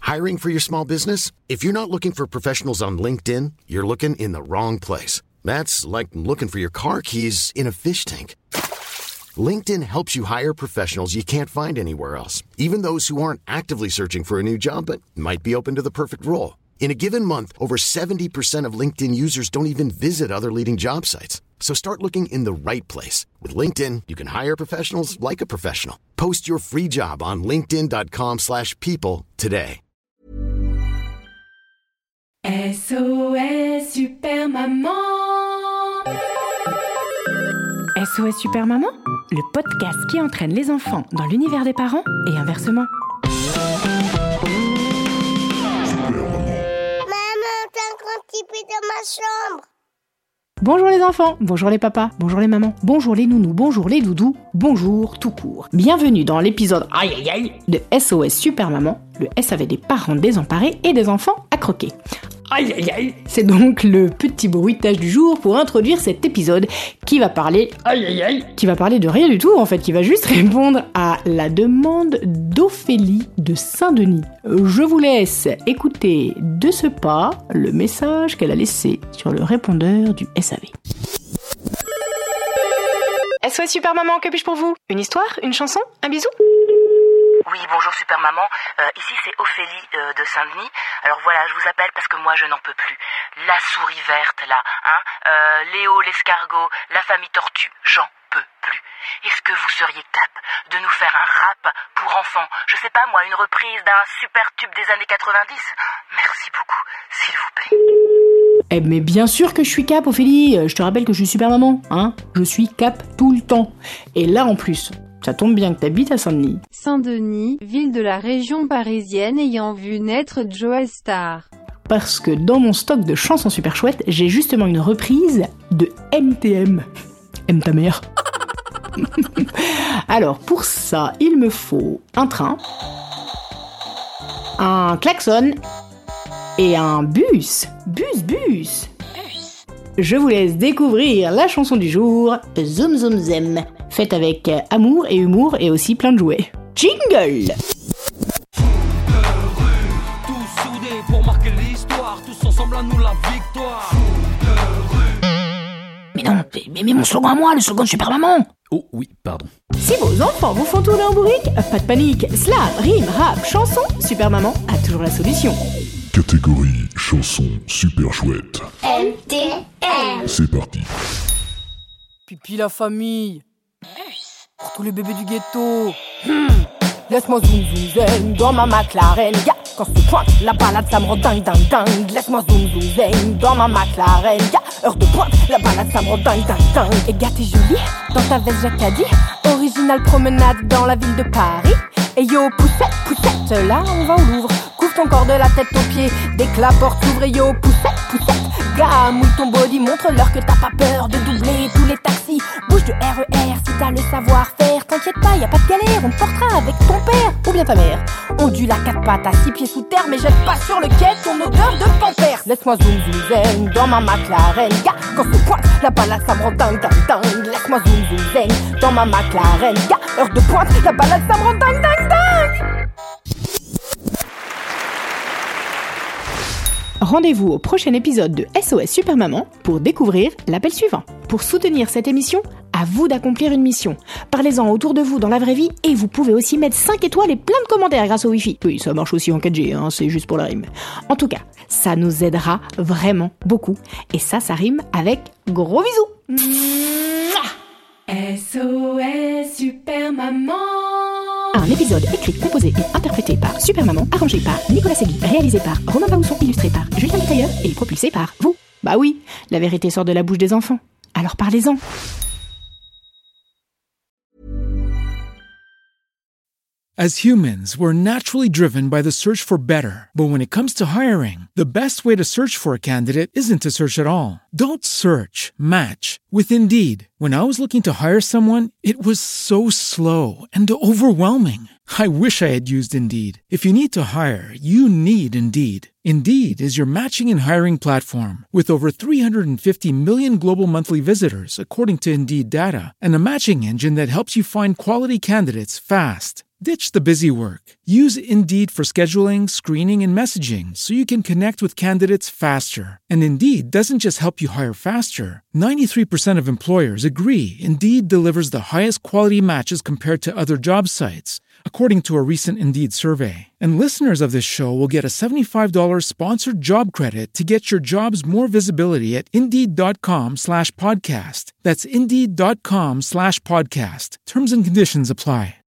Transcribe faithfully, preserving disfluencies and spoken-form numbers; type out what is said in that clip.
Hiring for your small business? If you're not looking for professionals on LinkedIn, you're looking in the wrong place. That's like looking for your car keys in a fish tank. LinkedIn helps you hire professionals you can't find anywhere else, even those who aren't actively searching for a new job but might be open to the perfect role. In a given month, over seventy percent of LinkedIn users don't even visit other leading job sites. So start looking in the right place. With LinkedIn, you can hire professionals like a professional. Post your free job on linkedin.com slash people today. S O S Super Maman. S O S Super Maman, le podcast qui entraîne les enfants dans l'univers des parents et inversement. Dans ma chambre. Bonjour les enfants, bonjour les papas, bonjour les mamans, bonjour les nounous, bonjour les doudous, bonjour tout court. Bienvenue dans l'épisode aïe aïe aïe de S O S Super Maman, le S avec des parents désemparés et des enfants à croquer. Aïe aïe aïe, c'est donc le petit bruitage du jour pour introduire cet épisode qui va parler aïe aïe aïe, qui va parler de rien du tout en fait, qui va juste répondre à la demande d'Ophélie de Saint-Denis. Je vous laisse écouter de ce pas le message qu'elle a laissé sur le répondeur du S A V. S O S Super Maman, que puis-je pour vous? Une histoire? Une chanson? Un bisou? Oui, bonjour Super Maman, euh, ici c'est Ophélie euh, de Saint-Denis. Alors voilà, je vous appelle parce que moi je n'en peux plus. La souris verte là, hein, euh, Léo l'escargot, la famille tortue, j'en peux plus. Est-ce que vous seriez cap de nous faire un rap pour enfants? Je sais pas moi, une reprise d'un super tube des années quatre-vingt-dix? Merci beaucoup, s'il vous plaît. Eh mais bien sûr que je suis cap, Ophélie. Je te rappelle que je suis Super Maman, hein. Je suis cap tout le temps. Et là en plus, ça tombe bien que t'habites à Saint-Denis. Saint-Denis, ville de la région parisienne ayant vu naître Joe Star. Parce que dans mon stock de chansons super chouettes, j'ai justement une reprise de M T M. M ta mère. Alors pour ça, il me faut un train, un klaxon et un bus. Bus, bus. Bus. Je vous laisse découvrir la chanson du jour, Zoom Zoom Zem, faite avec amour et humour et aussi plein de jouets. Jingle! Tous soudés pour marquer l'histoire, tous ensemble à nous la victoire. Mais non, mais, mais mon slogan à moi, le slogan de Super Maman! Oh oui, pardon. Si vos enfants vous font tourner en bourrique, pas de panique, slam, rime, rap, chanson, Super Maman a toujours la solution. Catégorie chanson super chouette. M T M. C'est parti. Pipi la famille. Pour tous les bébés du ghetto. Hmm. Laisse-moi zoom zoom zen dans ma McLaren. Yeah. Quand se pointe la balade, ça me rend dingue dingue dingue. Laisse-moi zoom zoom zen dans ma McLaren. Yeah. Heure de pointe, la balade, ça me rend dingue dingue dingue. Et gars, t'es jolie dans ta veste Jacadi. Originale promenade dans la ville de Paris. Et yo, poussette, poussette, là on va au Louvre. Couvre ton corps de la tête aux pieds. Dès que la porte s'ouvre, et yo, poussette, poussette. Gars, mouille ton body, montre-leur que t'as pas peur de doubler tous les taxis. Bouge de R E R si t'as le savoir-faire. T'inquiète pas, y a pas de galère, on te portera avec ton père ou bien ta mère. Ondule à quatre pattes à six pieds sous terre, mais jette pas sur le quai ton odeur de pampers. Laisse-moi zoom zoom zen dans ma McLaren. Gars, quand se pointe la balade, ça me rend dingue dingue dingue. Laisse-moi zoom zoom zen dans ma McLaren. Gars, heure de pointe, la balade, ça me rend dingue dingue dingue. Rendez-vous au prochain épisode de S O S Super Maman pour découvrir l'appel suivant. Pour soutenir cette émission, à vous d'accomplir une mission. Parlez-en autour de vous dans la vraie vie et vous pouvez aussi mettre cinq étoiles et plein de commentaires grâce au Wi-Fi. Oui, ça marche aussi en quatre G, hein, c'est juste pour la rime. En tout cas, ça nous aidera vraiment beaucoup. Et ça, ça rime avec gros bisous. S O S Super Maman. Un épisode écrit, composé et interprété par Super Maman, arrangé par Nicolas Segui, réalisé par Romain Baousson, illustré par Julien Tailleur et propulsé par vous. Bah oui, la vérité sort de la bouche des enfants. Alors parlez-en. As humans, we're naturally driven by the search for better. But when it comes to hiring, the best way to search for a candidate isn't to search at all. Don't search, match with Indeed. When I was looking to hire someone, it was so slow and overwhelming. I wish I had used Indeed. If you need to hire, you need Indeed. Indeed is your matching and hiring platform with over three hundred fifty million global monthly visitors, according to Indeed data, and a matching engine that helps you find quality candidates fast. Ditch the busy work. Use Indeed for scheduling, screening, and messaging so you can connect with candidates faster. And Indeed doesn't just help you hire faster. ninety-three percent of employers agree Indeed delivers the highest quality matches compared to other job sites, according to a recent Indeed survey. And listeners of this show will get a seventy-five dollars sponsored job credit to get your jobs more visibility at Indeed.com slash podcast. That's Indeed.com slash podcast. Terms and conditions apply.